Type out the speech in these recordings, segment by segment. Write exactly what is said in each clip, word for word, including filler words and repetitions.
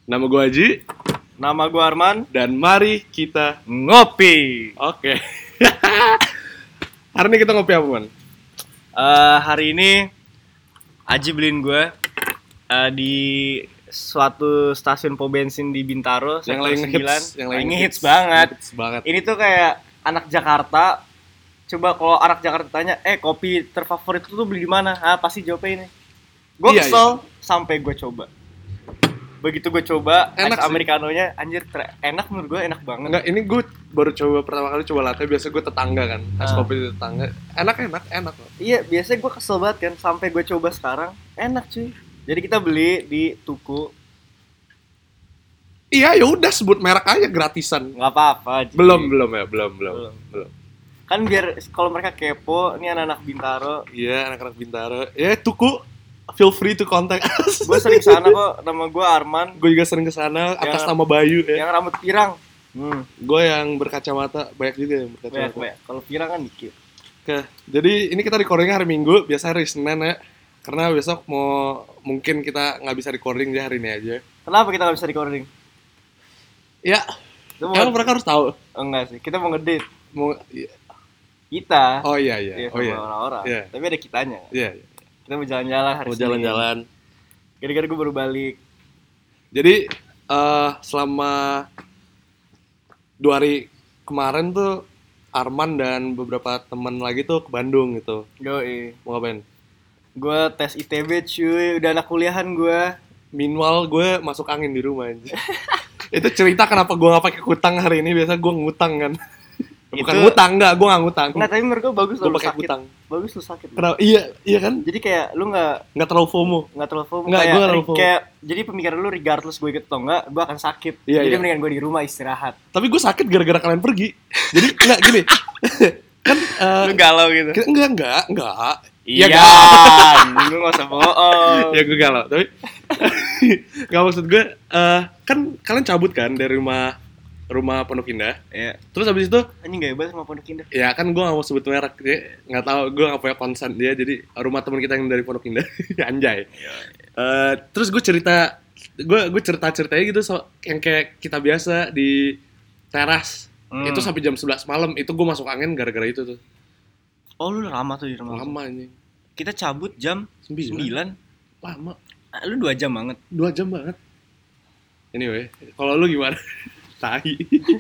Nama gue Haji. Nama gue Arman. Dan mari kita ngopi. Oke. Hari ini kita ngopi apa, Man? Uh, hari ini Haji beliin gue uh, di suatu stasiun pom bensin di Bintaro yang lagi hits, yang lagi hits banget. hits banget. Ini tuh kayak anak Jakarta. Coba kalau anak Jakarta tanya, eh kopi terfavorit itu tuh beli di mana? Ah pasti jawabnya ini. Gue iya, kesel iya. sampai gue coba. Begitu gue coba, enak es americanonya anjir ter- enak menurut gue, enak banget. Enggak, ini gue baru coba pertama kali coba latte. Biasa gue tetangga kan, es uh. kopi di tetangga. Enak enak enak loh. Iya, biasanya gue kesel banget kan sampai gue coba sekarang enak cuy. Jadi kita beli di Tuku. Iya, ya udah sebut merek aja gratisan. Nggak apa-apa. Ji. Belum belum ya belum belum belum. belum. Kan biar kalau mereka kepo, ini anak-anak Bintaro. Iya, anak-anak Bintaro. Ya Tuku. Feel free to contact us. Gue sering kesana kok, nama gue Arman. Gue juga sering kesana atas nama Bayu ya. Yang rambut pirang. Hmm. Gue yang berkacamata, banyak juga yang berkacamata. Banyak, banyak. Kalau pirang kan dikit. Oke, jadi ini kita recordingnya hari Minggu, biasa hari Senin ya. Karena besok mau mungkin kita nggak bisa recording jadi hari ini aja. Kenapa kita nggak bisa recording? Ya, emang mereka harus tahu. Oh, enggak sih, kita mau ngedate. Mau iya. Kita. Oh iya iya. iya oh iya. Orang-orang. Iya. Tapi ada kitanya. Iya. iya. Kita mau jalan-jalan hari mau Senin. jalan-jalan. Gara-gara gue baru balik. Jadi uh, selama dua hari kemarin tuh Arman dan beberapa teman lagi tuh ke Bandung gitu. Yoi. Mau ngapain? Gue tes I T B cuy, udah anak kuliahan gue. Meanwhile gue masuk angin di rumah aja. Itu cerita kenapa gue gak pakai kutang hari ini. Biasa gue ngutang kan. Bukan itu... ngutang, enggak, gue gak ngutang. Nggak, tapi menurut gue bagus gue lu pakai sakit. kutang. Bagus lu sakit. Kenapa? Iya, iya kan? Jadi kayak lu gak Gak terlalu FOMO. Gak terlalu FOMO. Nggak, kayak, gue terlalu FOMO. Kayak, jadi pemikiran lu regardless gue ikut atau enggak, gue akan sakit. Iya, jadi iya. mendingan gue di rumah istirahat. Tapi gue sakit gara-gara kalian pergi. Jadi enggak gini. Kan uh, lu galau gitu. Enggak, enggak, enggak. Iya, lu gak usah bohong. Ya gue galau, tapi gak maksud gue, uh, kan kalian cabut kan dari rumah rumah Pondok Indah. Iya. Terus habis itu, anjing gak hebat sama Pondok Indah. ya kan gue gak mau sebut merek, dia gak tahu, gue gak punya konsen dia, jadi rumah teman kita yang dari Pondok Indah, anjay. Uh, terus gue cerita, gue gue cerita ceritanya gitu, so, yang kayak kita biasa di teras. Hmm. Itu sampai jam sebelas malam, itu gue masuk angin gara-gara itu tuh. Oh lu lama tuh di rumah. Lama ini. Kita cabut jam sembilan. Lama. Ah, lu dua jam banget. Dua jam banget. Anyway, kalau lu gimana? Tai.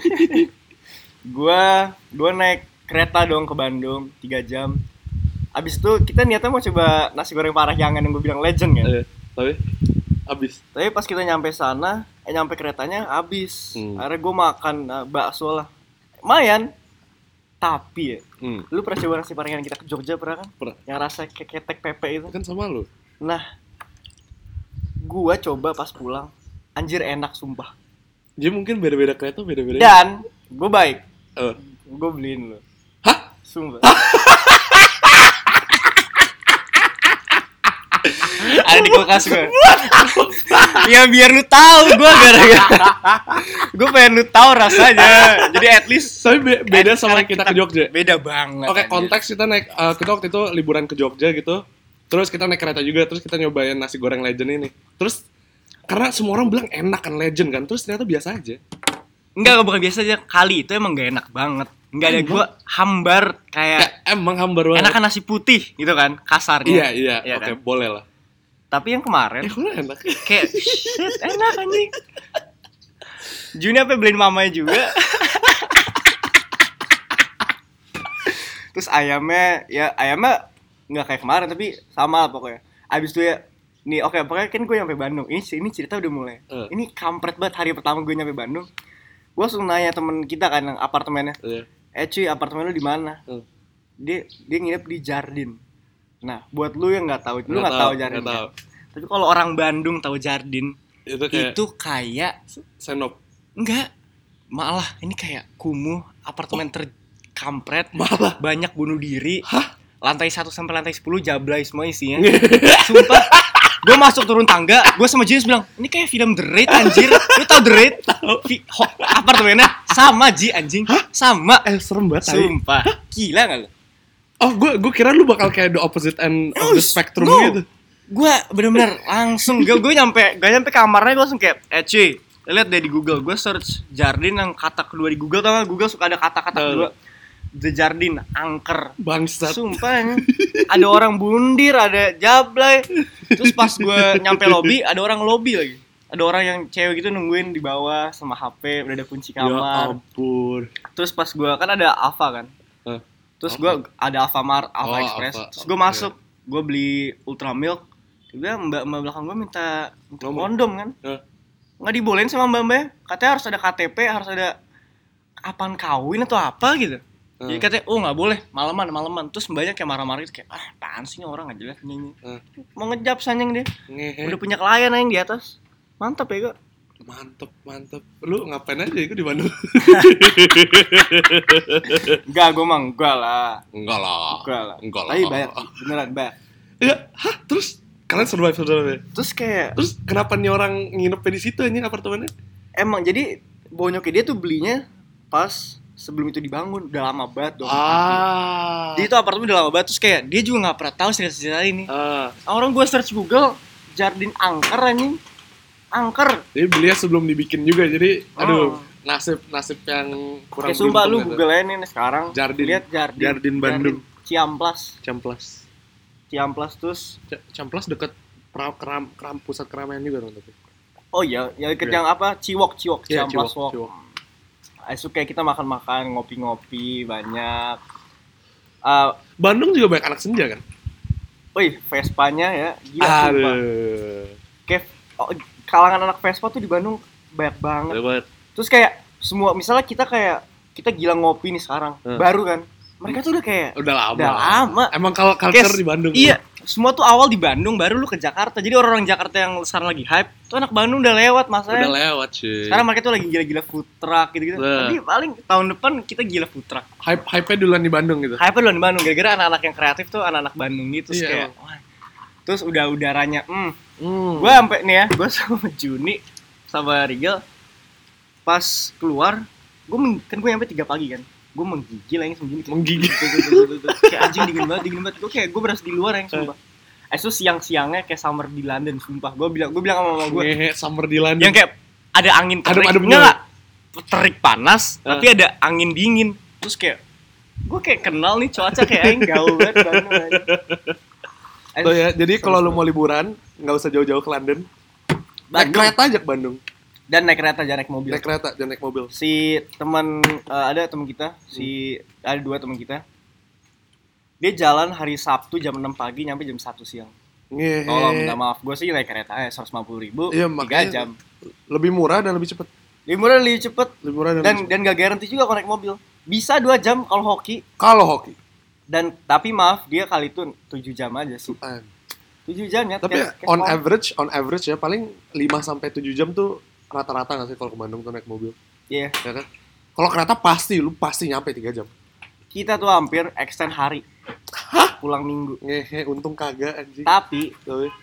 Gua gua naik kereta dong ke Bandung tiga jam. Abis itu kita niatnya mau coba nasi goreng Parahyangan yang gue bilang legend kan. Eh, tapi abis. Tapi pas kita nyampe sana, eh nyampe keretanya abis. Hmm. Akhirnya gue makan uh, bakso lah. Lumayan. Tapi ya, hmm. lu pernah coba nasi Parahyangan kita ke Jogja pernah kan? Pernah. Yang rasa kayak ketek pepe itu. Kan sama lu. Nah, gua coba pas pulang, anjir enak sumpah. Jadi mungkin beda-beda kereta, beda-beda. Dan gue baik. Uh. Gue beliin lo. Hah? Sumpah. Ada di kulkas gue. Ya biar lu tahu gue gara-gara. Gue pengen lu tahu rasanya. Jadi at least. Tapi be- beda sama kita, kita ke Jogja. Beda banget. Oke, okay, konteks kita naik uh, kita waktu itu liburan ke Jogja gitu. Terus kita naik kereta juga, terus kita nyobain nasi goreng legend ini. Terus karena semua orang bilang enak kan legend kan, terus ternyata biasa aja. Enggak, bukan biasa aja. Kali itu emang gak enak banget. Enggak ada gue hambar kayak ya, emang hambar banget. Enakan nasi putih gitu kan, kasarnya. Iya, iya. Ya, oke, okay, kan? Boleh lah. Tapi yang kemarin eh, enak. Kayak shit, enak anjing. Juni apa beliin mamanya juga. Terus ayamnya, ya ayamnya nggak kayak kemarin tapi sama lah pokoknya. Abis itu ya, nih oke okay, pokoknya kan gue nyampe Bandung. Ini ini cerita udah mulai. Uh. Ini kampret banget hari pertama gue nyampe Bandung. Gue langsung nanya temen kita kan yang apartemennya. Uh. Eh cuy, apartemen lu di mana? Uh. Dia dia nginep di Jardin. Nah, buat lu yang nggak tahu, lu nggak tahu Jardin. Kan? Tapi kalau orang Bandung tahu Jardin, itu kayak, itu kayak Senop. Enggak. Malah ini kayak kumuh, apartemen oh. terkampret, malah banyak bunuh diri. Hah? Lantai satu sampai lantai sepuluh jablay semua isinya. Sumpah. Gue masuk turun tangga, gue sama James bilang, ini kayak film The Raid anjir. Lu tau The Raid? Vi- ho- apartemennya sama Ji anjing. Hah? Sama. Eh serem banget. Sumpah. Gila gak lu? Oh, gue gue kira lu bakal kayak the opposite end of the spectrum no. gitu. Gue bener-bener langsung gue gue nyampe gue nyampe kamarnya gue langsung kayak eh cuy lihat deh di Google, gue search Jardin yang kata kedua di Google, tau gak? Google suka ada kata-kata kedua, The Jardin, angker, bangsat. Sumpah, ada orang bundir, ada jablay. Terus pas gue nyampe lobby, ada orang lobby lagi, ada orang yang cewek gitu nungguin di bawah sama H P, udah ada kunci kamar. Ya ampun. Terus pas gue kan ada Alfa kan, huh? Terus gue ada Alfamart, Alfa oh, Express. Alpha, Terus gue masuk, gue beli Ultra Milk. Dia mbak mbak belakang gue minta kondom kan. Huh? Nggak dibolehin sama mbak-mbak, katanya harus ada K T P, harus ada apaan kawin atau apa gitu. Hmm. Jadi katanya, oh nggak boleh, malaman, malaman. Terus mbaknya kayak marah-marah gitu, kayak, ah apaan sih orang nggak jelas nyanyi. Hmm. Mau ngejap sanyang dia, Ngehe. Udah punya klien yang di atas. Mantep ya kok. Mantep, mantep. Lu ngapain aja itu di Bandung? Enggak, gue mang, enggak lah. Enggak lah. Enggak lah. Enggak lah. Tapi banyak, beneran banyak. Ya, hah? Terus? Kalian survive survive. Terus kayak terus kenapa nih orang nginep di situ anjing apartemennya? Emang jadi bonyoknya dia tuh belinya pas sebelum itu dibangun, udah lama banget dong. Ah. Jadi itu apartemen udah lama banget, terus kayak dia juga nggak pernah tahu cerita-cerita ini. Ah. Orang gue search Google Jardin angker anjing. Angker. Jadi belinya sebelum dibikin juga, jadi aduh, oh. nasib nasib yang kurang. Kayak sumpah lu Google aja nih sekarang. Jardin. Lihat Jardin. Jardin Bandung. Jardin. Ciamplas. Ciamplas. Ciamplas terus C- Ciamplas dekat keram, keram, keram pusat keramaian juga dong tapi. Oh iya, ya deket yeah. yang apa? Ciwok, Ciwok, yeah, Ciamplas Ciwok, Walk. Ciwok. Esok kayak kita makan-makan, ngopi-ngopi banyak. Uh, Bandung juga banyak anak senja kan? Wih, Vespanya ya, gila sumpah. Kayak oh, kalangan anak Vespa tuh di Bandung banyak banget. Banyak. Terus kayak semua misalnya kita kayak kita gila ngopi nih sekarang, hmm. baru kan. Mereka tuh udah kayak udah lama. Udah lama. Emang kalau culture di Bandung. Iya, tuh. Semua tuh awal di Bandung, baru lu ke Jakarta. Jadi orang-orang Jakarta yang sekarang lagi hype, tuh anak Bandung udah lewat masanya. Udah lewat cuy. Sekarang mereka tuh lagi gila-gila food truck gitu-gitu. Nah. Tapi paling tahun depan kita gila food truck. Hype hype-nya duluan di Bandung gitu. Hype-nya duluan di Bandung, gara-gara anak-anak yang kreatif tuh anak-anak Bandung gitu. Terus iya, kayak wah. Terus udah udaranya, hmm. hmm. Gue sampai nih ya, gue sama Juni sama Rigel pas keluar, gue kan gue nyampe tiga pagi kan. Gue menggigil yang segini menggigil kayak anjing dingin banget dingin banget gue kayak gue berasa di luar yang sumpah eh itu siang-siangnya kayak summer di London sumpah gue bilang gue bilang sama mama gue Ngehe, summer di London yang kayak ada angin terik adem, adem enggak terik panas uh. tapi ada angin dingin terus kayak gue kayak kenal nih cuaca kayak aing gaul banget Bandung aja. Tuh ya jadi kalau lu mau liburan nggak usah jauh-jauh ke London, naik kereta aja ke Bandung. Dan naik kereta, jangan naik mobil. Naik kereta, jangan naik mobil. Si teman uh, ada teman kita, si hmm. ada dua teman kita. Dia jalan hari Sabtu jam enam pagi nyampe jam satu siang. Ngehe. Tolong minta maaf, gue sih naik kereta ya seratus lima puluh ribu, iya, tiga jam. Lebih murah dan lebih cepet. Lebih murah dan lebih cepet. Lebih murah dan dan lebih dan gak garanti juga kalau naik mobil. Bisa dua jam kalau hoki. Kalau hoki. Dan tapi maaf dia kali itu tujuh jam aja sih. Suan. tujuh jam ya. Tapi kayak, on kayak average, on average ya paling lima sampai tujuh jam tuh rata-rata nggak sih kalau ke Bandung tuh naik mobil? Iya. Yeah. Ya kan? Kalau kereta pasti, lu pasti nyampe tiga jam. Kita tuh hampir extend hari. Hah? Pulang minggu. Ngehe, untung kagak anjing. Tapi,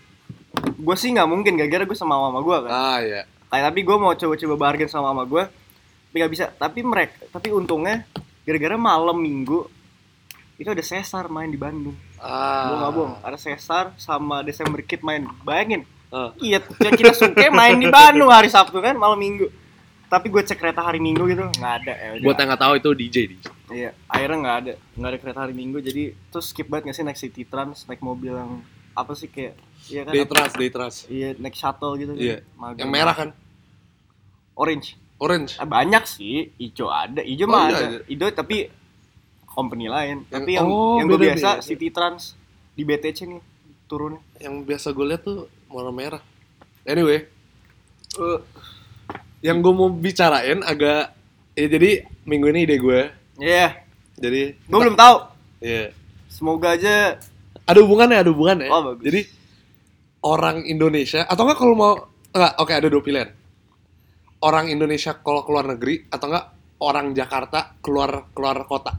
gue sih nggak mungkin, gara-gara gue sama mama gue kan. Ah iya. Kayak tapi gue mau coba-coba bargain sama mama gue, tapi nggak bisa. Tapi mereka, tapi untungnya, gara-gara malam minggu itu ada Sesar main di Bandung. Ah. Gue nggak bohong, ada Sesar sama Desember Kid main. Bayangin. Uh. Iya, kita suka main di Bandung hari Sabtu kan, malam minggu. Tapi gue cek kereta hari Minggu gitu, nggak ada. Ya, buat yang nggak tahu itu D J, D J. Iya, akhirnya nggak ada, nggak ada kereta hari Minggu. Jadi terus skip banget nggak sih naik City Trans, naik mobil yang apa sih kayak, iya kan? Day Trans, Day Trans. Iya, naik shuttle gitu. Iya. Kan? Yang merah kan? Orange. Orange. Eh, banyak sih, hijau ada, hijau oh, mah ada. Hijau tapi company lain. Yang, tapi yang oh, yang gue biasa beda. City Trans di B T C nih turun. Yang biasa gue lihat tuh warna merah. Anyway, uh, yang gue mau bicarain agak, ya jadi minggu ini ide gue. Iya. Yeah. Jadi gue belum tahu. Iya. Yeah. Semoga aja. Ada hubungannya, ada hubungannya. Oh bagus. Jadi orang Indonesia atau enggak kalau mau enggak, oke okay, ada dua pilihan. Orang Indonesia kalau keluar negeri atau enggak orang Jakarta keluar keluar kota.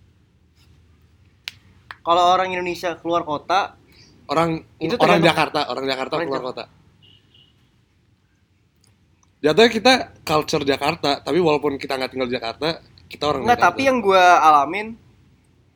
Kalau orang Indonesia keluar kota. Orang itu orang Jakarta, orang Jakarta orang keluar Jakarta. Kota. Jatuhnya kita culture Jakarta, tapi walaupun kita nggak tinggal di Jakarta, kita orang Jakarta. Nggak, tapi yang gue alamin,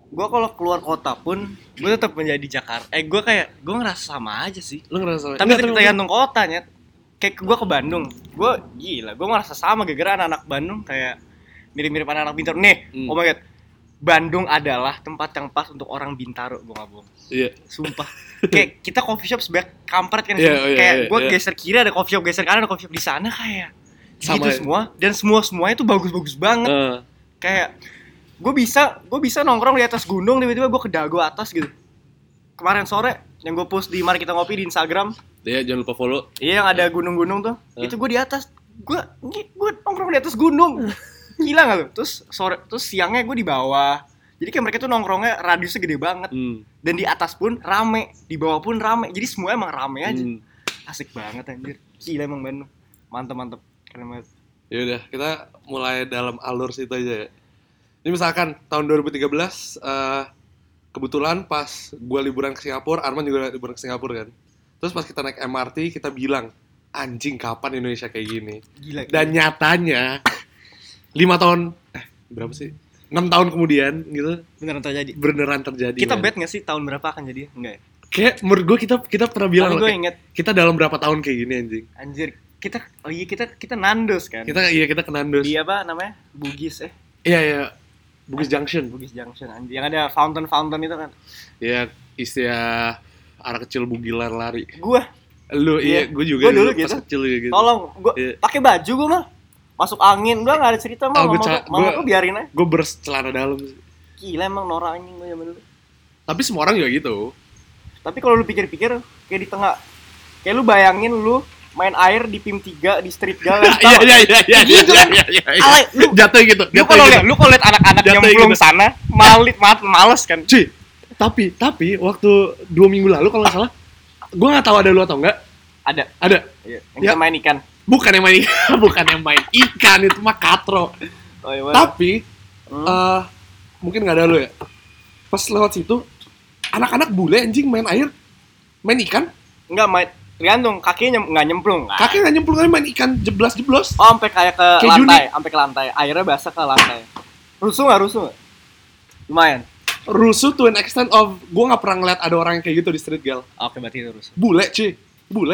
gue kalau keluar kota pun gue tetap menjadi Jakarta. Eh gue kayak gue ngerasa sama aja sih. Lu ngerasa sama? Tapi tergantung kotanya. Kayak gue ke Bandung, gue gila, gue ngerasa sama gara-gara anak-anak Bandung kayak mirip-mirip anak-anak Bintaro. Nih, hmm. oh my god, Bandung adalah tempat yang pas untuk orang Bintaro, gue nggak bohong. Iya. Sumpah. Kayak kita coffee shop sebanyak kampret kan, yeah, oh, yeah, kayak yeah, gue yeah. geser kiri ada coffee shop, geser kanan ada coffee shop di sana kayak sama gitu ya. Semua dan semua semuanya tuh bagus-bagus banget. Uh. Kayak gue bisa, gue bisa nongkrong di atas gunung tiba-tiba gue ke dago atas gitu. Kemarin sore yang gue post di Mari Kita Ngopi di Instagram. Iya, jangan lupa follow. Iya, yang ada gunung-gunung tuh. Huh? Itu gue di atas. Gue gue nongkrong di atas gunung. Gila enggak lu? Terus sore terus siangnya gue di bawah. Jadi kayak mereka tuh nongkrongnya radiusnya gede banget. Hmm. Dan di atas pun rame, di bawah pun rame. Jadi semua emang rame aja. Hmm. Asik banget anjir. Gila emang Bandung. Mantap-mantap. Keren banget. Ya udah, kita mulai dalam alur situ aja ya. Ini misalkan tahun dua ribu tiga belas uh, kebetulan pas gue liburan ke Singapura, Arman juga liburan ke Singapura kan. Terus pas kita naik M R T, kita bilang, anjing kapan Indonesia kayak gini? Gila, gila. Dan nyatanya, lima tahun, eh berapa sih? enam tahun kemudian gitu. Beneran terjadi? Beneran terjadi. Kita man. bet gak sih tahun berapa akan jadi? Enggak ya? Kayak menurut gue kita kita pernah bilang loh, inget, kita dalam berapa tahun kayak gini anjing. Anjir, kita, oh iya kita, kita Nandos kan? Kita, iya kita ke Nandos. Di apa namanya? Bugis eh? Iya, iya. Bugis Junction. Bugis Junction anjir. Yang ada fountain-fountain itu kan? Iya, istilah anak kecil bugilan lari. Gua, lu iya, gue juga. Gue dulu pas gitu. Kecil gitu. Tolong, gue yeah. pakai baju gue mah, masuk angin, udah nggak ada cerita mah. Oh, mama ca- gue, mama gue biarin aja. Gue bercelana dalam. Gila emang norak anjing gue zaman dulu. Tapi semua orang juga gitu. Tapi kalau lu pikir-pikir, kayak di tengah, kayak lu bayangin lu main air di P I M tiga di street gal. Iya iya iya iya. Gitu kan? Alay, lu jatuh gitu. Lu kalau lihat, lu kalau lihat anak-anak yang belum gitu. Sana, malit, males kan. Cuy, tapi tapi waktu dua minggu lalu kalau nggak salah, gue nggak tahu ada lu atau enggak. Ada. Ada. Iya. Yang ya. Main ikan. Bukan yang main ikan, bukan yang main ikan itu mah katro. Oh, iya, tapi hmm. uh, mungkin nggak ada lu ya. Pas lewat situ, anak-anak bule anjing main air, main ikan. Enggak main. Tergantung, kakinya nggak nyemplung kan? Kakinya nggak nyemplung, main ikan jeblas-jeblos. Oh, sampai kayak ke kayak lantai, sampai ke lantai. Airnya basah ke lantai. Rusuh nggak rusuh? Gak? Lumayan. Rusuh to an extent of, gue nggak pernah ngeliat ada orang yang kayak gitu di street gal. Oke, berarti itu rusuh. Bule cuy, bule.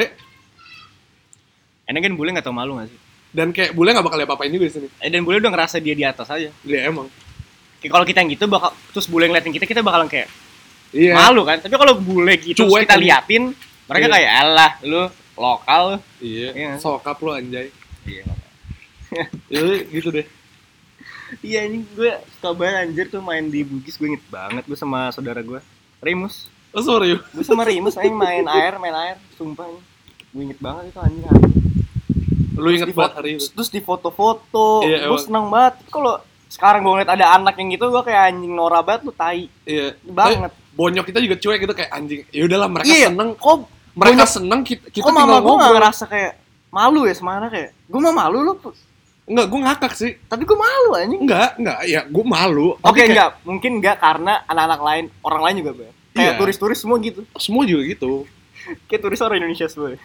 Enak kan bule nggak tau malu nggak sih? Dan kayak bule nggak bakal apa-apain juga di sini. Eh, dan bule udah ngerasa dia di atas aja. Iya emang. Kayak kalau kita yang gitu bakal, terus bule ngeliatin kita, kita bakalan kayak iya. Malu kan? Tapi kalau bule gitu kita kan liatin. Mereka iya. Kayak alah lu lokal. Iya. Iya. Sokap lu anjay. Iya. Ya gitu deh. Iya ini gue suka banget anjir tuh main di Bugis, gue inget banget gue sama saudara gue Remus. Oh sorry. Gue sama Remus aja main air, main air, sumpah ini. Gue inget banget itu anjing. Lu inget banget hari itu. Terus di foto-foto, iya, gue seneng banget. Kalau sekarang gue ngeliat ada anak yang gitu, gue kayak anjing norak banget lu tai. Iya. Banget. Bonyok kita juga cuek gitu kayak anjing. Ya udahlah mereka iya. Seneng. Kok mereka Bonyok, seneng kita, kita kok mama gue gak ngerasa kayak malu ya sama anak kayak gue mah malu lu. Enggak, gue ngakak sih. Tapi gue malu anjing. Enggak, enggak, ya gue malu. Oke, okay, kayak... enggak, mungkin enggak karena anak-anak lain, orang lain juga Be. Kayak iya. Turis-turis semua gitu. Semua juga gitu. Kayak turis orang Indonesia semua.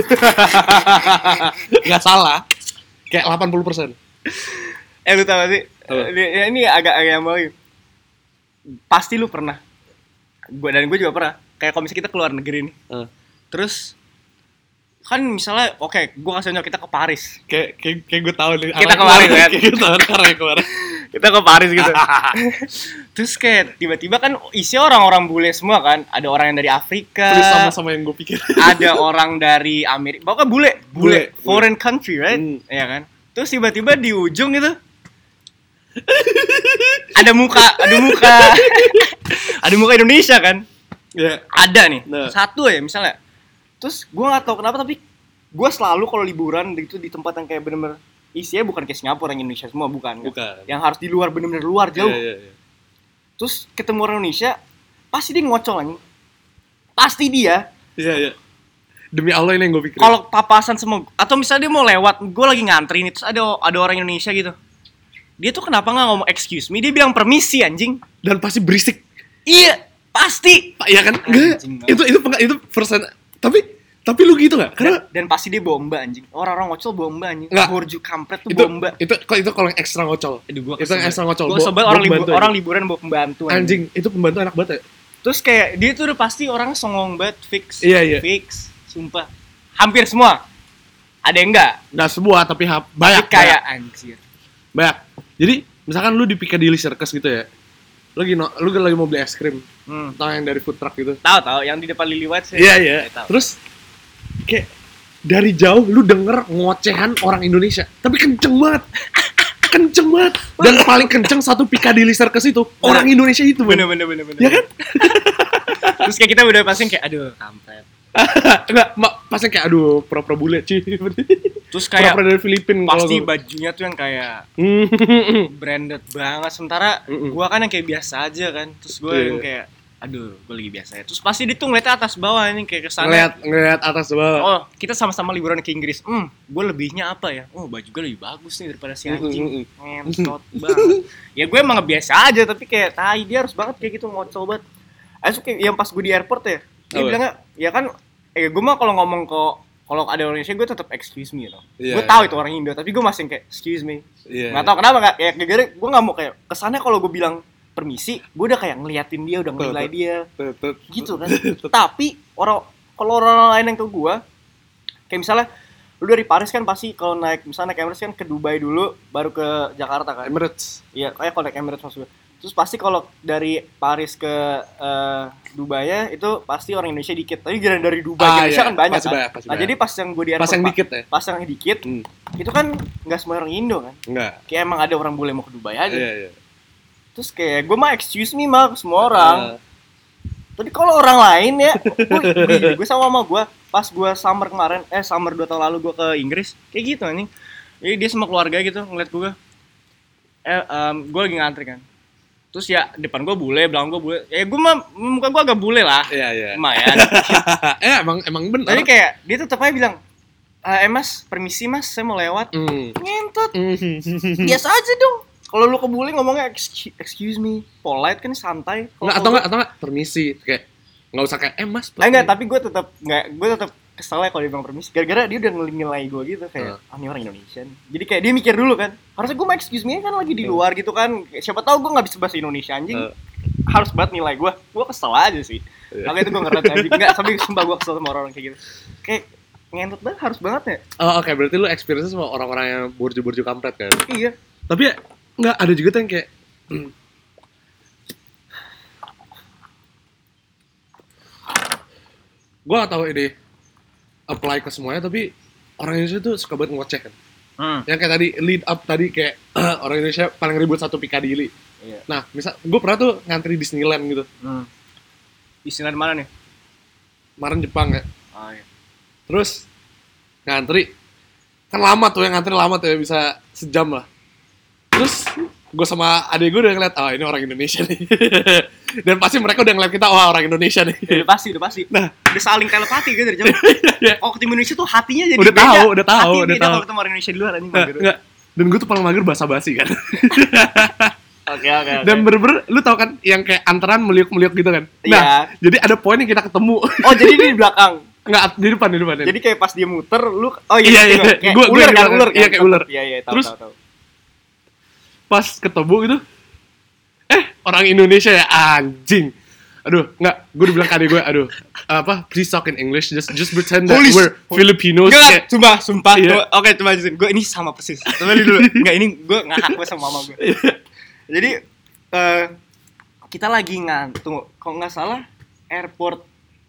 Enggak salah. Kayak delapan puluh persen. Eh lu tau gak sih? Ini, ini agak-agak yang mau. Pasti lu pernah. Gue dan gue juga pernah. Kayak kalau misalnya kita keluar negeri nih. Uh. Terus kan misalnya oke, okay, gue kasih contoh kita ke Paris. Kayak kayak, kayak gue tahu nih. Kita ke Paris kan. Kita tahu arahnya kemana. Kita ke Paris gitu. Terus kayak tiba-tiba kan isi orang-orang bule semua kan. Ada orang yang dari Afrika. Terus sama-sama yang gue pikir. Ada orang dari Amerika. Pokoknya bule, bule, bule. Foreign country, right? Hmm. Iya kan? Terus tiba-tiba di ujung itu ada muka, ada muka. Ada muka Indonesia kan? Yeah. Ada nih. Nah. Satu ya misalnya. Terus gue nggak tahu kenapa tapi gue selalu kalau liburan itu di tempat yang kayak bener-bener isinya bukan kayak Singapura yang Indonesia semua bukan, bukan. Kan? Yang harus di luar bener-bener luar jauh. Yeah, yeah, yeah. Terus ketemu orang Indonesia pasti dia ngocol anjing. Pasti dia. Iya yeah, iya. Yeah. Demi Allah ini yang gue pikirin. Kalau papasan semua atau misalnya dia mau lewat, gue lagi ngantri nih terus ada ada orang Indonesia gitu. Dia tuh kenapa nggak ngomong excuse me? Dia bilang permisi anjing. Dan pasti berisik. Iya pasti. Iya kan? Enggak. Itu itu itu persen. Tapi Tapi lu gitu nggak? Karena dan, dan pasti dia bomba anjing. Orang-orang ngocol bomba anjing. Nggak. Borju kampret tuh itu, bomba. Itu kok itu kalau yang ekstra ngocol. Aduh, gua Itu yang ekstra ngocol. Gua sebel orang libur, orang liburan bawa pembantu anjing. Anjing, itu pembantu enak banget ya. Terus kayak dia tuh udah pasti orang songong banget, fix. Iya, iya. Fix, sumpah. Hampir semua. Ada yang enggak? Nggak semua, tapi ha- banyak. Tapi kayak banyak. anjir. Banyak. Jadi, misalkan lu di Piccadilly Circus gitu ya. Lu lagi no, lu lagi mau beli es krim. Hmm. Tahu yang dari food truck gitu. Tahu tahu yang di depan Lily White sih. Iya, iya. Terus kayak dari jauh lu denger ngocehan orang Indonesia, tapi kenceng banget. Kenceng banget. Dan paling kenceng satu Piccadilly Circus itu orang Indonesia itu. Bener bener bener bener. Ya kan? Terus kayak kita udah pasang kayak aduh kampret. Enggak, pasang kayak aduh pura-pura bule cuy. Terus kayak pura-pura dari Filipina pasti kalau bajunya tuh yang kayak branded banget. Sementara Mm-mm. gua kan yang kayak biasa aja kan. Terus gua Iya. yang kayak aduh, gua lagi biasa ya. Terus pasti dia tuh ngeliatnya atas bawah ini kayak kesana. ngeliat ngeliat atas bawah. Oh, kita sama-sama liburan ke Inggris. Hmm, gue lebihnya apa ya? Oh, baju gue lebih bagus nih daripada si anjing. Ngentot banget. Ya gue emang biasa aja, tapi kayak tai dia harus banget kayak gitu ngocol banget. Ayo kayak yang pas gue di airport ya, dia Oh, bilangnya, ya kan, eh gue mah kalau ngomong ke kalau ada orang Indonesia gue tetap excuse me gitu. Iya, Gue tahu iya. itu orang Indo, tapi gue masih yang kayak excuse me. Iya. Nggak tahu kenapa nggak? Ya gara-gara gue nggak mau kayak kesannya kalau gue bilang permisi, gue udah kayak ngeliatin dia, udah nilai dia. Gitu kan. Tapi orang kalau orang lain yang ke gua kayak misalnya lu dari Paris kan pasti kalau naik misalnya naik Emirates kan ke Dubai dulu baru ke Jakarta kan. Emirates. Iya, kayak kalau naik Emirates maksudnya. Terus pasti kalau dari Paris ke uh, Dubai ya itu pasti orang Indonesia dikit. Tapi gara dari Dubai Ah, Indonesia iya. kan banyak Pasti kan. banyak, pasti Nah, banyak. jadi pas yang gua di airport Pas yang Pak, dikit ya? Pas yang dikit Hmm. itu kan enggak semua orang Indo kan. Enggak. Kayak emang ada orang bule mau ke Dubai aja. Iya, iya. Terus kayak gue mah excuse me mah ke semua orang. Uh, Tapi kalau orang lain ya, gue sama mama gue pas gue summer kemarin, eh summer dua tahun lalu gue ke Inggris, kayak gitu anjing. Jadi dia sama keluarga gitu ngeliat gue, eh um, gue lagi ngantri kan. Terus ya depan gue bule, belakang gue bule, ya gue mah muka gue agak bule lah, iya, iya. lumayan. eh emang emang benar. Tapi kayak dia tetap aja bilang, eh mas permisi mas, saya mau lewat. Mm. Ngentot, Mm. biasa aja dong. Kalau lu ke bule ngomongnya excuse, excuse me, polite kan santai. Kalo Nggak, atau enggak atau enggak permisi kayak nggak usah kayak eh mas. Nah, enggak, tapi gue tetap enggak, gue tetap kesel ya kalau dia bilang permisi. Gara-gara dia udah nilai gue gitu kayak, Uh. ah ini orang Indonesia nih. Jadi kayak dia mikir dulu kan. Harusnya gue mah excuse me kan lagi di luar gitu kan. Siapa tahu gue nggak bisa bahasa Indonesia anjing. Uh. Harus banget nilai gue. Gue kesel aja sih. Yeah. Makanya itu gue ngerti anjing. Enggak, sampai sumpah gue kesel sama orang-orang kayak gitu. Kayak ngentot banget, harus banget ya. Oh, oke, berarti lu experience sama orang-orang yang burju-burju kampret kan. Iya. Tapi ya nggak ada juga tuh yang kayak gue gak tahu ini apply ke semuanya, tapi orang Indonesia tuh suka banget ngoceh kan. Hmm. Yang kayak tadi lead up tadi kayak orang Indonesia paling ribut satu Piccadilly. Iya. Nah, misal gue pernah tuh ngantri Disneyland gitu. Hmm. Istilah di mana nih? Kemarin Jepang ya. Oh iya. Terus ngantri kan lama tuh, yang ngantri lama tuh ya, bisa sejam lah. Terus gue sama adik gue udah ngeliat, oh ini orang Indonesia nih. Dan pasti mereka udah ngeliat kita, wah orang Indonesia nih. Ya, udah pasti, udah pasti. Nah, Udah saling telepati kan dari jauh. Oh, ketemu Indonesia tuh hatinya jadi Udah beda. tahu, udah tahu, Hatinya udah beda tahu. kalau ketemu orang Indonesia di luar anjing Nggak, mager. nggak. Dan gue tuh paling mager basa-basi kan. Oke, oke, oke. Dan bener-bener, lu tau kan yang kayak antaran meliuk-meliuk gitu kan. Nah, Iya. jadi ada poin yang kita ketemu. Oh, jadi dia di belakang. Nggak, di depan, di depan. Jadi kayak pas dia muter, lu oh Iya, iya. kayak Gua- gua ular di kan, belakang. ular kan. Iya, kayak ular. Iya, iya, tahu, Terus, tahu, tahu. Pas ketemu gitu, eh orang Indonesia ya, anjing. Aduh, nggak, gue udah bilang ke adik gue, aduh, apa, please talk in English, just just pretend that Holy we're sh- Filipinos. Enggak, Kayak- sumpah, sumpah. Iya. Gua- Oke, coba jelasin. Gue ini sama persis. Coba dulu. Enggak, ini gue ngahak gue sama mama gue. Jadi eh kita lagi ngantuk, kalau nggak salah airport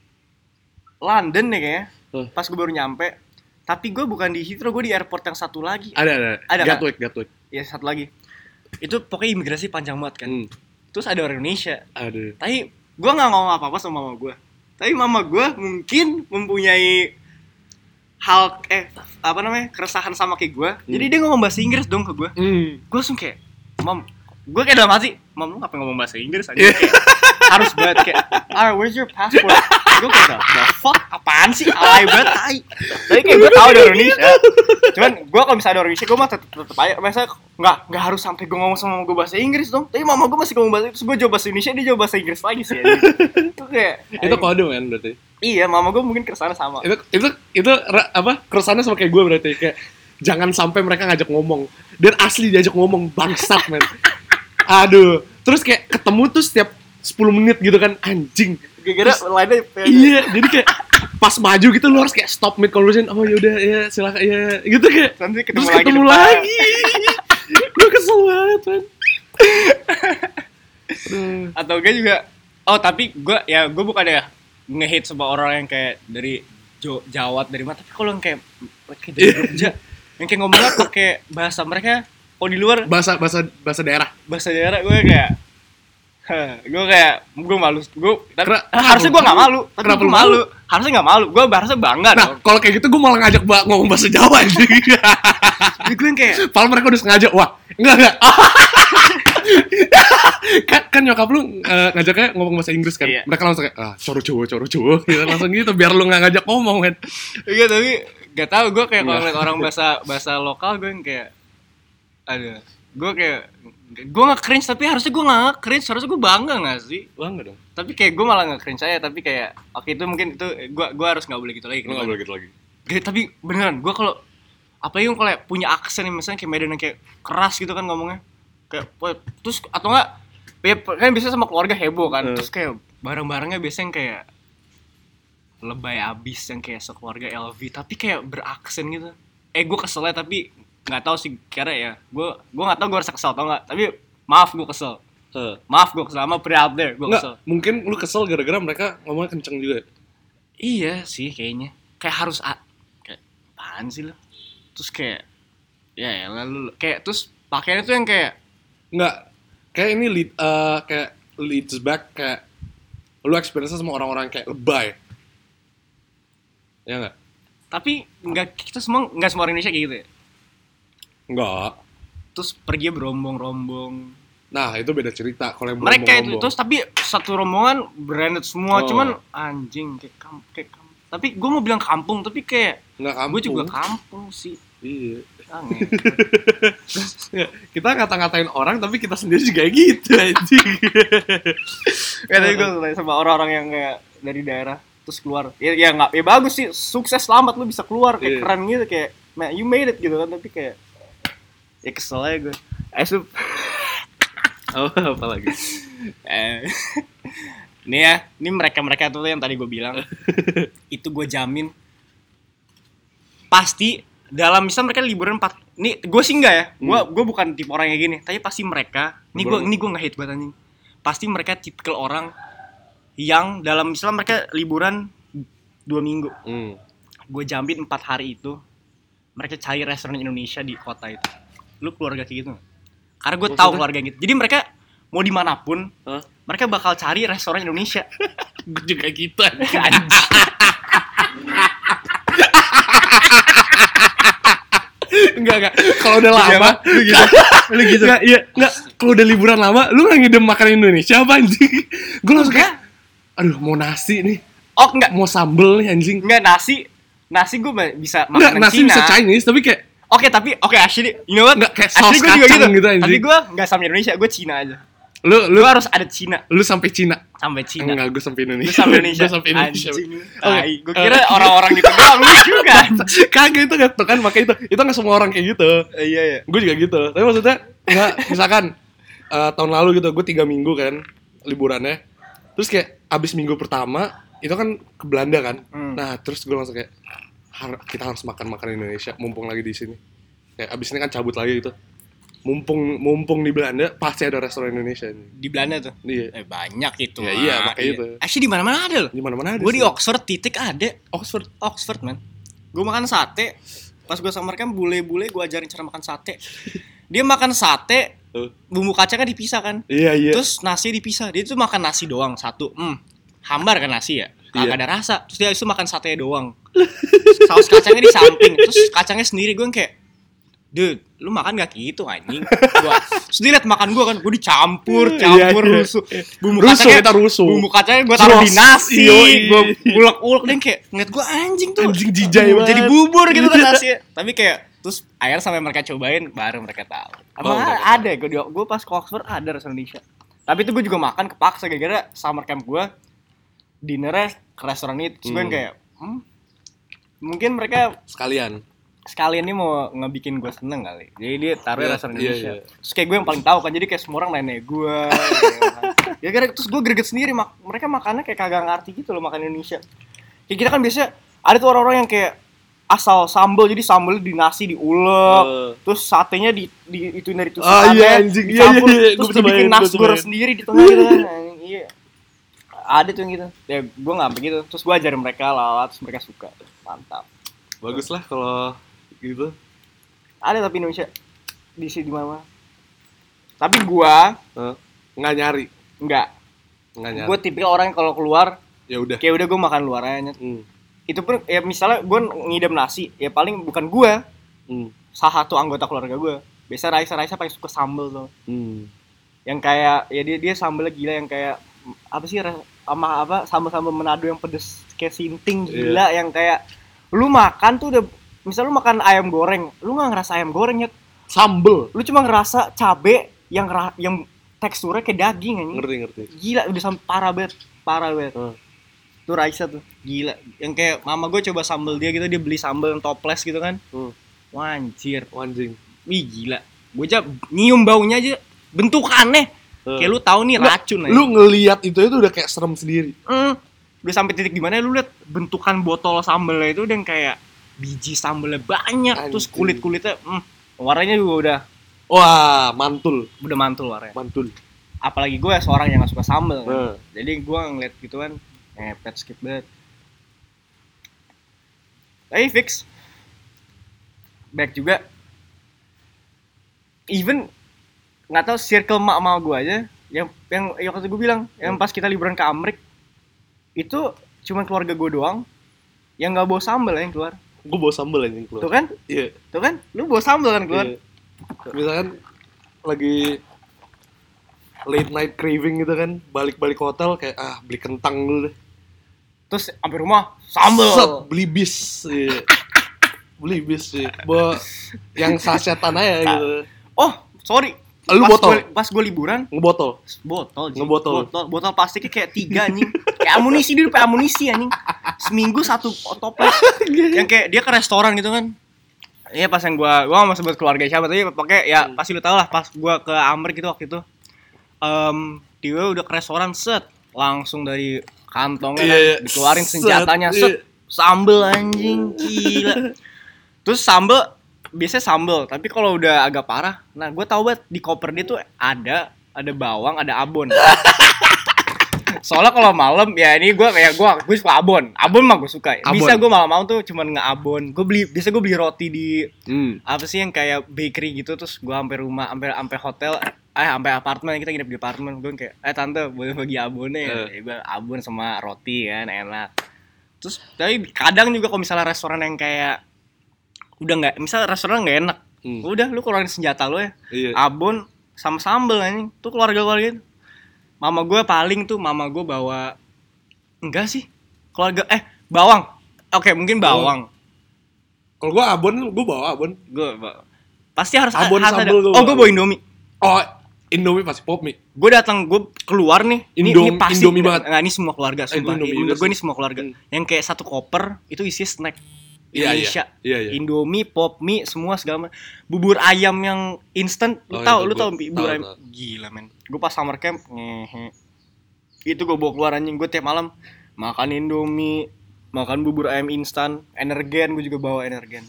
London nih kayaknya. Huh. Pas gue baru nyampe. Tapi gue bukan di Heathrow, gue di airport yang satu lagi. Ada, ada. Ada, kan? Gatwick, Gatwick. Ya satu lagi. Itu pokoknya imigrasi panjang banget kan. Hmm, Terus ada orang Indonesia. ada. Tapi gue nggak ngomong apa-apa sama mama gue. Tapi mama gue mungkin mempunyai hal eh apa namanya keresahan sama kayak gue. Hmm. Jadi dia ngomong bahasa Inggris dong ke gue. Hmm. Gue langsung kayak, mam, gue kayak dalam hati, mam lu ngapain ngomong bahasa Inggris aja? Yeah. Kayak, harus banget kayak, ah where's your passport? Gue kayak, the fuck, apaan sih? Alay banget, tai. Tapi kayak gue tau ada orang Indonesia. Cuman gue kalau misalnya ada orang Indonesia, gue mah tetep, tetep aja. Misalnya nggak nggak harus sampai gue ngomong sama mama gue bahasa Inggris dong. Tapi mama gue masih ngomong bahasa Inggris, gue jawab bahasa Indonesia, dia jawab bahasa Inggris lagi sih. Itu kayak, Itu kode kan berarti. Iya, mama gue mungkin kesana sama. Itu itu itu apa? Keresahannya sama kayak gue berarti kayak jangan sampai mereka ngajak ngomong. Dan asli diajak ngomong bangsat men. Aduh, terus kayak ketemu tuh setiap sepuluh menit gitu kan anjing. Gara-gara lainnya iya, jadi kayak pas maju gitu lu harus kayak stop mid conversation. Oh ya udah ya silakan ya gitu kayak. Nanti ketemu terus lagi ketemu lagi. Gue kesel banget man. Atau gue juga oh tapi gue ya gue bukan ya nge-hate sama orang yang kayak dari Jo, Jawa dari mana, tapi kalau yang kayak kayak dari Jogja yang kayak ngomongnya pakai bahasa mereka oh di luar bahasa bahasa bahasa daerah bahasa daerah gue kayak gue kayak gue malu gue tapi Kera, harusnya gue nggak malu tapi kenapa gue malu? malu harusnya nggak malu gue harusnya bangga nah kalau kayak gitu gue malah ngajak ba- ngomong bahasa Jawa anjing. Jadi gue yang kayak padahal mereka udah sengaja wah enggak enggak kan, kan nyokap lu uh, ngajaknya ngomong bahasa Inggris kan iya. Mereka langsung kayak ah coro cowok coro cowok gitu langsung gitu biar lu nggak ngajak ngomong kan iya tapi nggak tahu gue kayak kalau ngeliat orang bahasa bahasa lokal gue yang kayak ada gue kayak gue nggak cringe tapi harusnya gue nggak cringe harusnya gue bangga nggak sih bangga dong tapi kayak gue malah nggak cringe aja tapi kayak oke okay, itu mungkin itu gue gue harus nggak boleh gitu lagi nggak boleh gitu lagi Gak, tapi beneran gue kalau apa yang kalau punya aksen yang misalnya kayak Medan yang kayak keras gitu kan ngomongnya kayak terus atau enggak ya, kan biasanya sama keluarga heboh kan uh. Terus kayak barang-barangnya biasanya kayak lebay abis yang kayak sekeluarga L V tapi kayak beraksen gitu eh gue keselnya tapi nggak tahu sih kira ya gue gue nggak tahu gue rasa kesel atau nggak tapi maaf gue kesel uh. maaf gue kesel sama pria out there gue kesel mungkin lu kesel gara-gara mereka ngomongnya kenceng juga iya sih kayaknya kayak harus a- kayak apaan sih lo terus kayak ya ya lalu kayak terus pakaiannya tuh yang kayak nggak kayak ini lead, uh, kayak leads back kayak lu experience sama orang-orang kayak lebay ya nggak tapi nggak kita semua nggak semua orang Indonesia kayak gitu ya nggak terus pergi berombong-rombong nah itu beda cerita kalau yang mereka itu terus tapi satu rombongan branded semua oh. Cuman anjing kayak kam kayak kam tapi gue mau bilang kampung tapi kayak nggak kampung gue juga kampung sih iya kita ngata-ngatain orang tapi kita sendiri juga gitu anjing. Kayak tadi gue sama orang-orang yang kayak dari daerah terus keluar. Ya ya enggak ya bagus sih, sukses selamat lu bisa keluar kayak yeah. Keren gitu kayak man, you made it gitu kan tapi kayak ya kesel aja gue. Asup. Oh, apa lagi? Eh. Nih ya, ini mereka-mereka tuh yang tadi gue bilang. Itu gue jamin pasti dalam misal mereka liburan empat nih gue sih enggak ya gue hmm. gue bukan tipe orang kayak gini tapi pasti mereka nih gue ini gue nggak hate banget anjing pasti mereka tipikal orang yang dalam misal mereka liburan dua minggu hmm. gue jamin empat hari itu mereka cari restoran Indonesia di kota itu lu keluarga kayak gitu nggak? Karena gue tahu keluarga gitu jadi mereka mau dimanapun huh? Mereka bakal cari restoran Indonesia gue juga gitu Enggak, enggak. Kalau udah lama, lu gitu. Lu gitu. Enggak, iya, enggak. Kalau udah liburan lama, lu enggak ngidam makanan Indonesia apa anjing? Gue langsung kayak aduh, mau nasi nih. Oh, enggak. Mau sambel nih anjing. Enggak, nasi. Nasi gue bisa makanan enggak, nasi Cina. Nasi bisa Chinese, tapi kayak oke, okay, tapi oke okay, actually, you know what? Enggak kayak saus kacang gitu. gitu anjing. Tapi gue enggak sama Indonesia, gue Cina aja. Lu lu gua harus ada Cina. Lu sampai Cina. Sampai Cina. Enggak, gue sampai Indonesia. Lu sampai Indonesia. Gue sampai Indonesia. Okay. Gue kira uh, orang-orang gitu doang lu juga. Kagak itu kan, kan makanya itu. Itu enggak semua orang kayak gitu. Uh, iya iya. Gue juga gitu. Tapi maksudnya enggak misalkan uh, tahun lalu gitu gue tiga minggu kan liburannya. Terus kayak abis minggu pertama itu kan ke Belanda kan. Hmm. Nah, terus gue langsung kayak har- kita harus makan makanan Indonesia mumpung lagi di sini. Kayak abis ini kan cabut lagi gitu. Mumpung mumpung di Belanda pasti ada restoran Indonesia nih. Di Belanda tuh. Iya. Eh banyak itu. Ya, iya, makanya iya. Itu. Actually di mana-mana ada loh. Di mana-mana ada. Gue di Oxford titik ada. Oxford, Oxford man. Gue makan sate. Pas gue sama mereka bule-bule gue ajarin cara makan sate. Dia makan sate, bumbu kacangnya dipisah kan. Iya, iya. Terus nasi dipisah. Dia tuh makan nasi doang satu. Hmm. Hambar kan nasi ya. Kagak iya. Ada rasa. Terus dia itu makan sate doang. Saus kacangnya di samping. Terus kacangnya sendiri gue kayak dude, lu makan gak gitu anjing? Gua terus dia liat makan gua kan, gua dicampur, campur iya, iya. rusuh. Bumbu rusuh, kacangnya kita rusuh. Bumbu kacangnya gua taruh di nasi, gua ulek-ulek dan kayak ngeliat gua anjing tuh. Anjing jijai banget. Jadi bubur gitu kan nasi. Tapi kayak terus akhirnya sampai mereka cobain baru mereka tahu. Apa oh, ada gua di gua pas ke Oxford ada restoran Indonesia. Tapi itu gua juga makan kepaksa gara-gara summer camp gua dinernya ke restoran itu. Terus gue Hmm. kayak hmm, mungkin mereka Sekalian. sekalian ini mau ngebikin gue seneng kali. Jadi dia taruh Iya, restoran iya, Indonesia. iya. Terus kayak gue yang paling tahu kan. Jadi kayak semua orang nanya gue. Ya, kan. Ya kira terus gue greget sendiri. Mak- mereka makannya kayak kagak ngerti gitu loh makan Indonesia. Kayak kita kan biasanya ada tuh orang-orang yang kayak asal sambal, jadi sambalnya di nasi diulek, Uh. terus satenya di, di itu dari Ah, tusukannya iya, anjing. Iya, dicampur, iya, iya. Gua terus bisa dibikin bayangin, gua bisa nasgor bayangin. sendiri di tengah gitu kan. Anjing, iya. Ada tuh yang gitu. Ya gue nggak sampai gitu. Terus gue ajarin mereka lala, terus mereka suka. Mantap. Bagus lah kalau gitu. Ada tapi Indonesia di sini di mana? Tapi gua Uh, nggak nyari, enggak. nggak nyari. Gua tipikal orang yang kalau keluar Ya udah. kayak udah gua makan luar aja. Hmm. Itu pun ya misalnya gua ngidam nasi, ya paling bukan gua, Hmm. salah satu anggota keluarga gua. Biasa Raisa Raisa paling suka sambel tuh. Hmm. Yang kayak ya dia dia sambelnya gila yang kayak apa sih sama apa sambel-sambel Manado yang pedes kayak sinting gila yang kayak lu makan tuh udah misal lu makan ayam goreng, lu nggak ngerasa ayam goreng ya, Sambel. lu cuma ngerasa cabe yang ra- yang teksturnya kayak daging anjing. Ngerti ngerti. Gila udah sampai parah banget, parah banget. Hmm. Tuh Raisa tuh, gila. Yang kayak mama gue coba sambel dia gitu, dia beli sambel yang toples gitu kan. Hmm. Wah, anjir, Anjing. wih gila. Gue aja nyium baunya aja, bentukannya. Hmm. Kayak lu tahu nih racun aja. Lu ngelihat itu itu udah kayak serem sendiri. Hmm, udah sampai titik di mana lu lihat bentukan botol sambelnya itu udah yang kayak biji sambelnya banyak, Anjing. terus kulit-kulitnya, hmm, warnanya juga udah Wah, mantul, udah mantul warnanya. mantul. Apalagi gue seorang yang gak suka sambel kan. Hmm. Jadi gue ngeliat gitu kan ngepet skip banget. Tapi fix back juga. Even nggak tahu circle mak sama gue aja yang yang yang waktu gue bilang yang pas kita liburan ke Amrik itu cuma keluarga gue doang yang nggak bawa sambel yang keluar. Gue bawa sambel anjing keluar. Tuh kan, Iya. tuh kan, lu bawa sambel kan keluar. Iya. Misalkan lagi late night craving gitu kan, balik-balik hotel kayak ah beli kentang dulu deh. Terus sampai rumah sambel. Set, beli bis. Iya. Beli bis sih. Bawa yang sasetan aja gitu. Oh, sorry. Lu pas botol? Gua, pas gue liburan, Ngebotol. botol, Ji. Ngebotol. botol, botol plastiknya kayak tiga anjing, kayak amunisi dia pakai amunisi anjing, seminggu satu toples, yang kayak dia ke restoran gitu kan, iya pas yang gua, gua nggak mau sebut keluarga siapa tapi pakai ya Hmm. pasti lu tau lah pas gua ke Amrik gitu waktu itu, um, dia udah ke restoran set, langsung dari kantongnya Iya, kan, iya. dikeluarin Set, senjatanya iya. set, sambel anjing, gila, terus sambel biasanya sambel, tapi kalau udah agak parah, nah gue tau banget di koper dia tuh ada ada bawang, ada abon. Soalnya kalau malam ya ini gue kayak gue gue suka abon, abon mah gue suka. Bisa Abon. gue malam-malam tuh cuman nge-abon. Gue beli, biasa gue beli roti di Hmm. apa sih yang kayak bakery gitu, terus gue sampai rumah, sampai sampai hotel, eh sampai apartemen, kita nginep di apartemen. Gue kayak eh tante boleh bagi abonnya ya, Eh. ya gue abon sama roti kan enak. Terus tapi kadang juga kalau misalnya restoran yang kayak udah nggak, misal restoran nggak enak, Hmm. udah lu keluarin senjata lu ya, Iya. abon sama sambel anjing, tuh keluarga-keluarga itu. Mama gue paling tuh, mama gue bawa, enggak sih, keluarga, eh bawang, oke mungkin bawang, Kalau gua abon, gua bawa abon. gue pasti harus Abon harus ada. sambel gua Oh bawa. gue bawa Indomie, Oh, Indomie pasti pop mie. gue datang, gue keluar nih, ini, Indom- ini pasti, Indomie banget. nggak, ini semua keluarga, Eh, sumpah, Indomie menurut juga gue sih. ini semua keluarga, Hmm. yang kayak satu koper itu isi snack. Iya, Indonesia, iya, iya. Indomie, pop mie, semua segala macam. Bubur ayam yang instan, lu Oh, tahu, iya, lu gua- tahu bubur tahu, ayam, tahu. gila men. Gue pas summer camp, ngehe, itu gue bawa keluar anjing, gue tiap malam makan Indomie, makan bubur ayam instan, energen, gue juga bawa energen.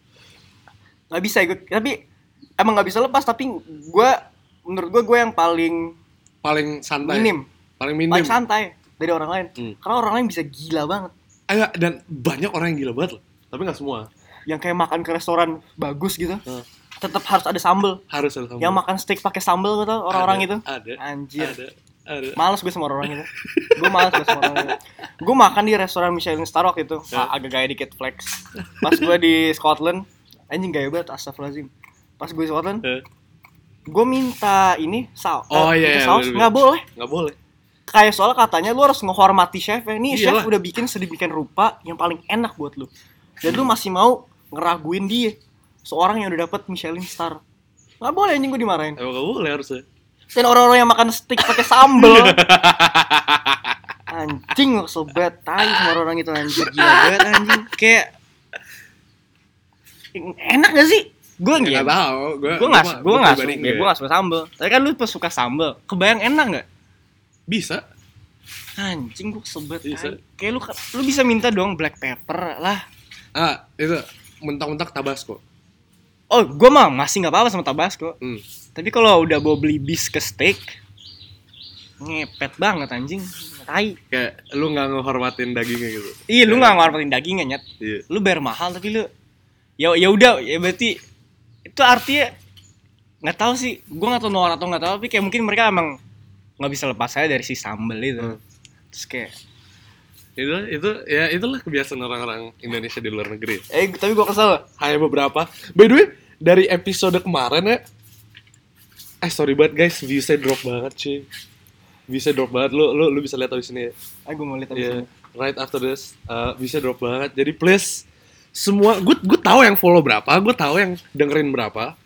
Gak bisa gue, tapi emang gak bisa lepas, tapi gue, menurut gue gue yang paling Paling santai. minim, Paling minim. paling santai dari orang lain, Hmm. karena orang lain bisa gila banget. Eh, enggak, dan banyak orang yang gila banget loh. Tapi nggak semua. Yang kayak makan ke restoran bagus gitu, Hmm. tetap harus ada sambel. Harus ada sambal. Yang makan steak pakai sambel gitu orang-orang Ada, itu. Ada. Anjir. Ada. Ada. Males gue sama orang itu. Gue males gue sama orang itu. Gue makan di restoran Michelin Star waktu itu. Ya. Ah, agak gaya dikit flex. Pas gue di Scotland, anjing gaya banget, astagfirullahaladzim. Pas gue di Scotland, Eh. gue minta ini saus. Oh, eh, iya, minta iya, saus bener-bener. nggak boleh. Nggak boleh. Kayak soalnya katanya lu harus menghormati chef. Nih chef Iyalah. udah bikin sedemikian rupa yang paling enak buat lu. Dan lu masih mau ngeraguin dia, seorang yang udah dapet Michelin Star. Nggak boleh anjing, gue dimarahin. Emang nggak boleh harusnya. Dan orang-orang yang makan steak pakai sambel, Anjing gua kesel banget, tai sama orang itu anjing, gila banget anjing. Kayak enak gak sih? Gue nggak nggak tahu, gue gue nggak gue nggak suka gue nggak suka sambel. Tapi kan lu pas suka sambel, kebayang enak nggak? Bisa. Anjing gue sebet. Bisa. Kayak lu lu bisa minta dong black pepper lah. Ah itu mentak-mentak Tabasco. Oh gue mah masih nggak apa-apa sama Tabasco. Hmm. Tapi kalau udah bawa beli bis ke steak, ngepet banget anjing. Tai. Kayak lu nggak ngehormatin dagingnya gitu. Iya lu nggak ngorbanin dagingnya nyet. Iya. Lu bayar mahal tapi lu ya ya udah ya berarti itu artinya nggak tahu sih, gue nggak tahu noor atau nggak tahu, tapi kayak mungkin mereka emang nggak bisa lepas saya dari si sambel itu. Hmm. Terus kayak itu itu ya itulah kebiasaan orang-orang Indonesia di luar negeri. Eh tapi gue kesel. Hanya beberapa. By the way dari episode kemarin ya, eh sorry banget guys, viewsnya drop banget cuy. Viewsnya drop banget, lu lu lu bisa lihat di sini ya. Ah gue mau lihat di yeah, sini. Right after this, uh, viewsnya drop banget. Jadi please semua, gue gue tahu yang follow berapa, gue tahu yang dengerin berapa.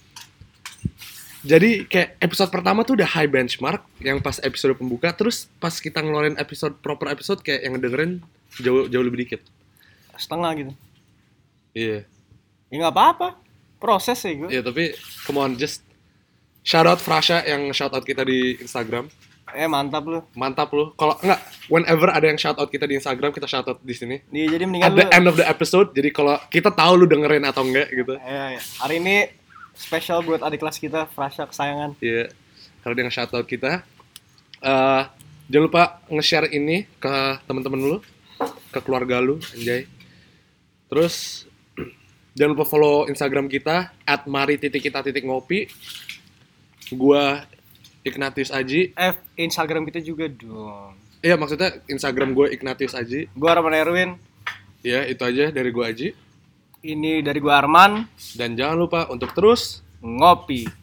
Jadi kayak episode pertama tuh udah high benchmark, yang pas episode pembuka, terus pas kita ngeluarin episode proper episode kayak yang dengerin jauh jauh lebih dikit, setengah gitu. Iya. Yeah. Ya nggak apa-apa, proses ya gue. Iya yeah, tapi come on, just shout out Frasha yang shout out kita di Instagram. Eh mantap lu. Mantap lu. Kalau enggak, whenever ada yang shout out kita di Instagram, kita shout out di sini. Iya, jadi mendingan at the lu, end of the episode. Jadi kalau kita tahu lu dengerin atau enggak gitu. Iya, iya. Hari ini spesial buat adik kelas kita, Frasha kesayangan. Iya. Kalau dia nge-shout out kita, uh, jangan lupa nge-share ini ke teman-teman lu, ke keluarga lu, anjay. Terus jangan lupa follow Instagram kita at mari titik kita titik ngopi. Gua Ignatius Aji. Eh, Instagram kita juga dong. Iya, maksudnya Instagram gue Ignatius Aji. Gue Arman Erwin. Iya, itu aja dari gue Aji. Ini dari gue Arman. Dan jangan lupa untuk terus ngopi.